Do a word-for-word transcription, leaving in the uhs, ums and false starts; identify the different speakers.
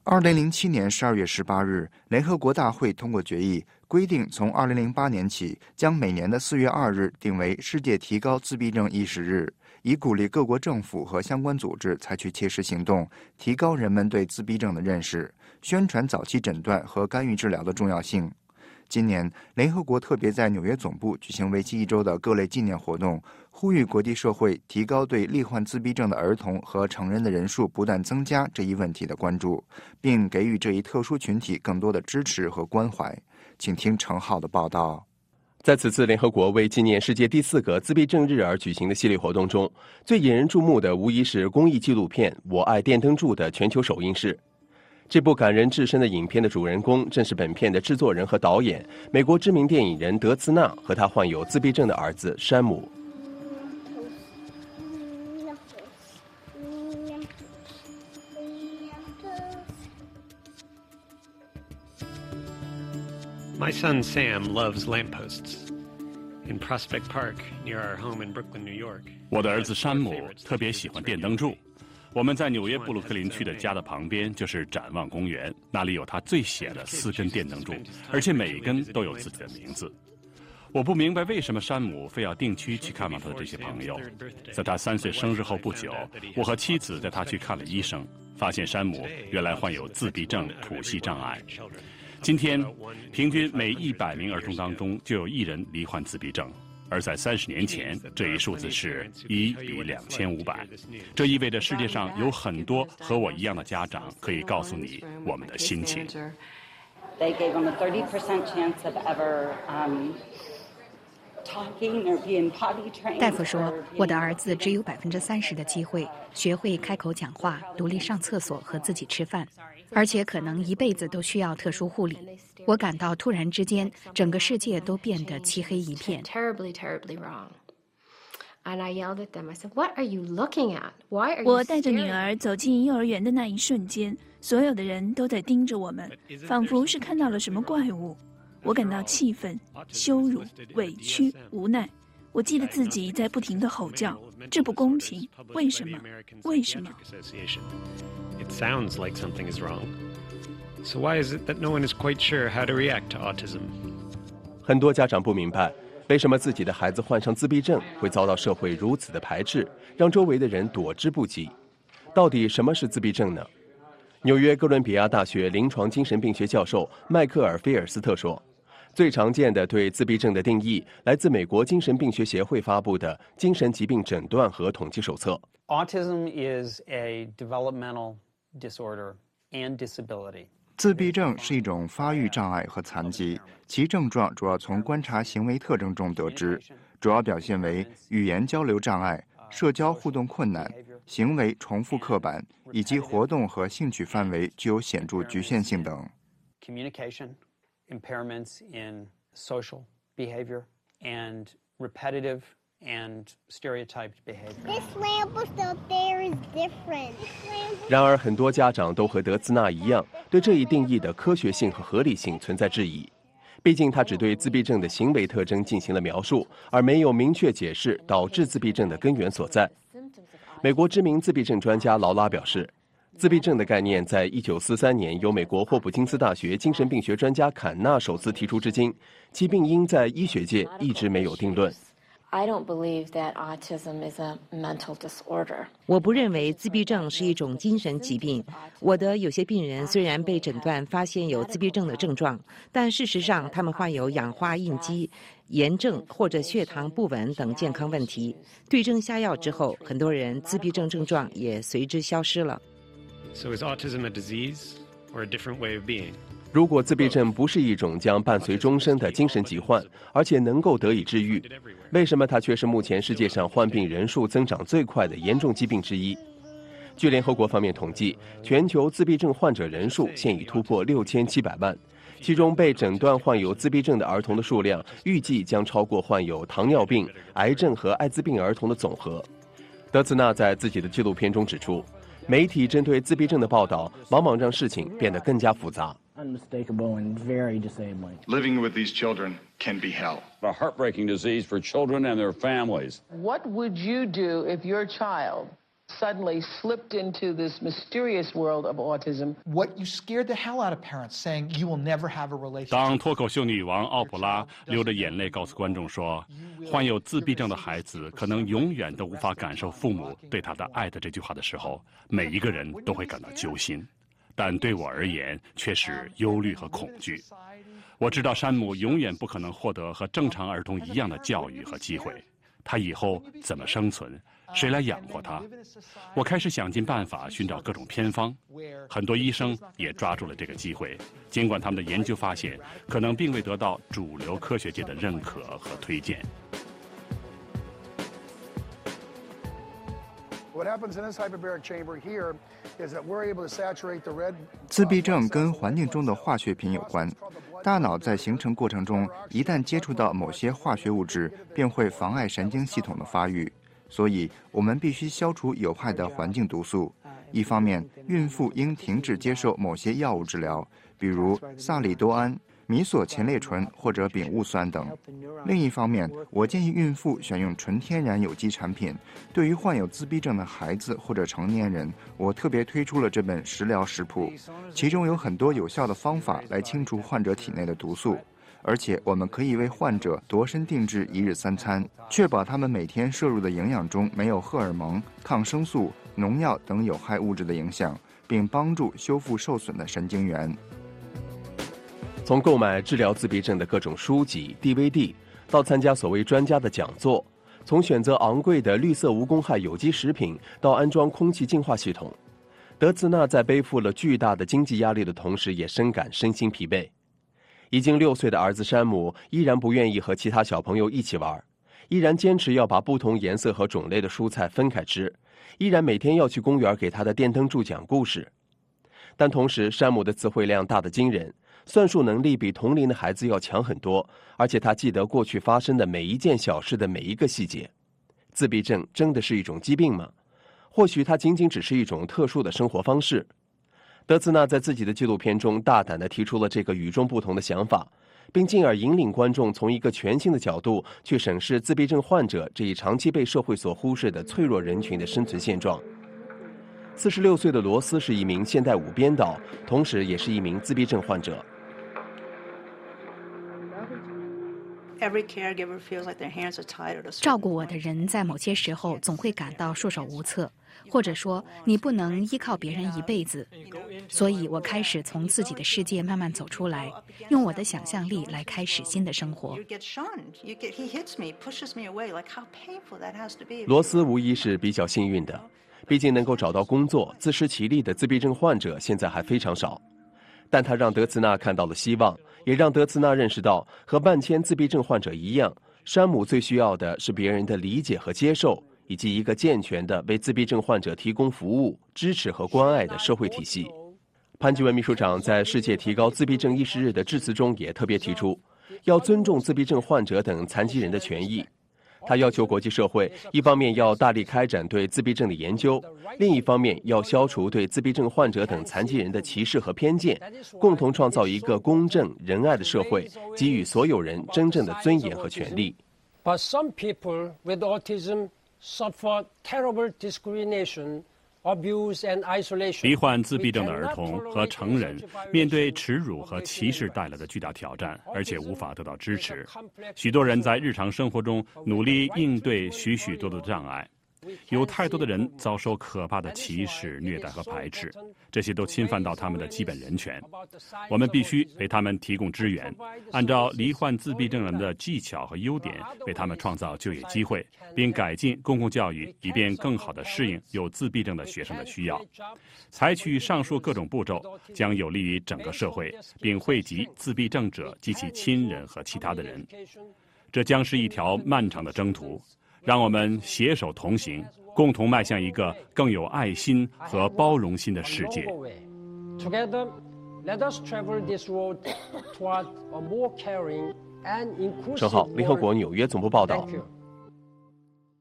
Speaker 1: 二零零七年十二月十八日，联合国大会通过决议，规定从二零零八年起，将每年的四月二日定为世界提高自闭症意识日，以鼓励各国政府和相关组织采取切实行动，提高人们对自闭症的认识，宣传早期诊断和干预治疗的重要性。今年，联合国特别在纽约总部举行为期一周的各类纪念活动，呼吁国际社会提高对罹患自闭症的儿童和成人的人数不断增加这一问题的关注，并给予这一特殊群体更多的支持和关怀。请听程浩的报道。
Speaker 2: 在此次联合国为纪念世界第四个自闭症日而举行的系列活动中，最引人注目的无疑是公益纪录片《我爱电灯柱》的全球首映式。这部感人至深的影片的主人公正是本片的制作人和导演，美国知名电影人德兹纳和他患有自闭症的儿子山姆。
Speaker 3: My son Sam loves lampposts. In Prospect Park, near our home in Brooklyn, New York.
Speaker 4: 我的儿子山姆特别喜欢电灯柱。我们在纽约布鲁克林区的家的旁边就是展望公园，那里有他最喜爱的四根电灯柱，而且每一根都有自己的名字。我不明白为什么山姆非要定期去看望他的这些朋友。在他三岁生日后不久，我和妻子带他去看了医生，发现山姆原来患有自闭症谱系障碍。今天，平均每一百名儿童当中就有一人罹患自闭症。而在三十年前，这一数字是一比两千五百。这意味着世界上有很多和我一样的家长可以告诉你我们的心情。
Speaker 5: 大夫说，我的儿子只有百分之三十的机会学会开口讲话、独立上厕所和自己吃饭，而且可能一辈子都需要特殊护理。我感到突然之间，整个世界都变得漆黑一片。
Speaker 6: 我带着女儿走进幼儿园的那一瞬间，所有的人都在盯着我们，仿佛是看到了什么怪物。我感到气愤、羞辱、委屈、无奈。我记得自己在不停地吼叫：“这不公平！为什么？为什么？”
Speaker 3: It sounds like something is wrong. So why is it that no one is quite sure how to react to autism?
Speaker 2: 很多家长不明白，为什么自己的孩子患上自闭症会遭到社会如此的排斥，让周围的人躲之不及。到底什么是自闭症呢？纽约哥伦比亚大学临床精神病学教授迈克尔·菲尔斯特说，最常见的对自闭症的定义来自美国精神病学协会发布的《精神疾病诊断和统计手册》。
Speaker 7: Autism is a developmental disorder and disability.
Speaker 1: 自闭症是一种发育障碍和残疾，其症状主要从观察行为特征中得知，主要表现为语言交流障碍、社交互动困难、行为重复刻板，以及活动和兴趣范围具有显著局限性等。
Speaker 7: Communication, impairments in social behavior, and repetitive and stereotyped behavior.
Speaker 8: This lamp up there is different.
Speaker 2: 然而，很多家长都和德兹纳一样，对这一定义的科学性和合理性存在质疑。毕竟，他只对自闭症的行为特征进行了描述，而没有明确解释导致自闭症的根源所在。美国知名自闭症专家劳拉表示，自闭症的概念在一九四三年由美国霍普金斯大学精神病学专家坎纳首次提出至今，其病因在医学界一直没有定论。
Speaker 9: I don't believe that autism is a mental disorder.
Speaker 10: 我不认为自闭症是一种精神疾病。我的有些病人虽然被诊断发现有自闭症的症状，但事实上他们患有氧化应激、炎症或者血糖不稳等健康问题。对症下药之后，很多人自闭症症状也随之消失了。
Speaker 3: So is autism a disease or a different way of being?
Speaker 2: 如果自闭症不是一种将伴随终身的精神疾患，而且能够得以治愈，为什么它却是目前世界上患病人数增长最快的严重疾病之一？据联合国方面统计，全球自闭症患者人数现已突破六千七百万，其中被诊断患有自闭症的儿童的数量预计将超过患有糖尿病、癌症和艾滋病儿童的总和。德兹纳在自己的纪录片中指出，媒体针对自闭症的报道往往让事情变得更加复杂。
Speaker 11: Unmistakable and very disabling.
Speaker 12: Living with these children can be hell.
Speaker 13: A heartbreaking disease for children and their families.
Speaker 14: What would you do if your child
Speaker 13: suddenly slipped into this mysterious world of autism.
Speaker 14: What you scared the hell out of parents, saying you will never have a relationship.
Speaker 4: 当脱口秀女王奥普拉流着眼泪告诉观众说，患有自闭症的孩子可能永远都无法感受父母对他的爱的这句话的时候，每一个人都会感到揪心，但对我而言却是忧虑和恐惧。我知道山姆永远不可能获得和正常儿童一样的教育和机会，他以后怎么生存？谁来养活他？我开始想尽办法寻找各种偏方，很多医生也抓住了这个机会，尽管他们的研究发现可能并未得到主流科学界的认可和推荐。
Speaker 1: 自闭症跟环境中的化学品有关，大脑在形成过程中，一旦接触到某些化学物质，便会妨碍神经系统的发育。所以，我们必须消除有害的环境毒素。一方面，孕妇应停止接受某些药物治疗，比如萨里多胺、米索前列醇或者丙戊酸等。另一方面，我建议孕妇选用纯天然有机产品。对于患有自闭症的孩子或者成年人，我特别推出了这本食疗食谱，其中有很多有效的方法来清除患者体内的毒素。而且我们可以为患者度身定制一日三餐，确保他们每天摄入的营养中没有荷尔蒙、抗生素、农药等有害物质的影响，并帮助修复受损的神经元。
Speaker 2: 从购买治疗自闭症的各种书籍、D V D， 到参加所谓专家的讲座，从选择昂贵的绿色无公害有机食品到安装空气净化系统，德兹纳在背负了巨大的经济压力的同时，也深感身心疲惫。已经六岁的儿子山姆依然不愿意和其他小朋友一起玩，依然坚持要把不同颜色和种类的蔬菜分开吃，依然每天要去公园给他的电灯柱讲故事。但同时，山姆的词汇量大得惊人，算术能力比同龄的孩子要强很多，而且他记得过去发生的每一件小事的每一个细节。自闭症真的是一种疾病吗？或许它仅仅只是一种特殊的生活方式。德兹纳在自己的纪录片中大胆地提出了这个与众不同的想法，并进而引领观众从一个全新的角度去审视自闭症患者这一长期被社会所忽视的脆弱人群的生存现状。四十六岁的罗斯是一名现代舞编导，同时也是一名自闭症患者。
Speaker 5: 照顾我的人在某些时候总会感到束手无策，或者说你不能依靠别人一辈子，所以我开始从自己的世界慢慢走出来，用我的想象力来开始新的生活。
Speaker 2: 罗斯无疑是比较幸运的，毕竟能够找到工作、自食其力的自闭症患者现在还非常少。但他让德兹纳看到了希望，也让德兹纳认识到，和万千自闭症患者一样，山姆最需要的是别人的理解和接受，以及一个健全的为自闭症患者提供服务、支持和关爱的社会体系。潘基文秘书长在世界提高自闭症意识日的致辞中也特别提出，要尊重自闭症患者等残疾人的权益。他要求国际社会一方面要大力开展对自闭症的研究，另一方面要消除对自闭症患者等残疾人的歧视和偏见，共同创造一个公正仁爱的社会，给予所有人真正的尊严和权利。
Speaker 15: But some people with autism suffer terrible discrimination, abuse and isolation.
Speaker 4: 罹患自闭症的儿童和成人面对耻辱和歧视带来的巨大挑战，而且无法得到支持。许多人在日常生活中努力应对许许多多的障碍，有太多的人遭受可怕的歧视、虐待和排斥，这些都侵犯到他们的基本人权。我们必须为他们提供支援，按照罹患自闭症人的技巧和优点，为他们创造就业机会，并改进公共教育，以便更好地适应有自闭症的学生的需要。采取上述各种步骤，将有利于整个社会，并惠及自闭症者及其亲人和其他的人。这将是一条漫长的征途。让我们携手同行，共同迈向一个更有爱心和包容心的世界。
Speaker 15: Together, let us travel this road toward a more caring and inclusive world.
Speaker 2: 陈浩，联合国纽约总部报道。
Speaker 15: Thank you.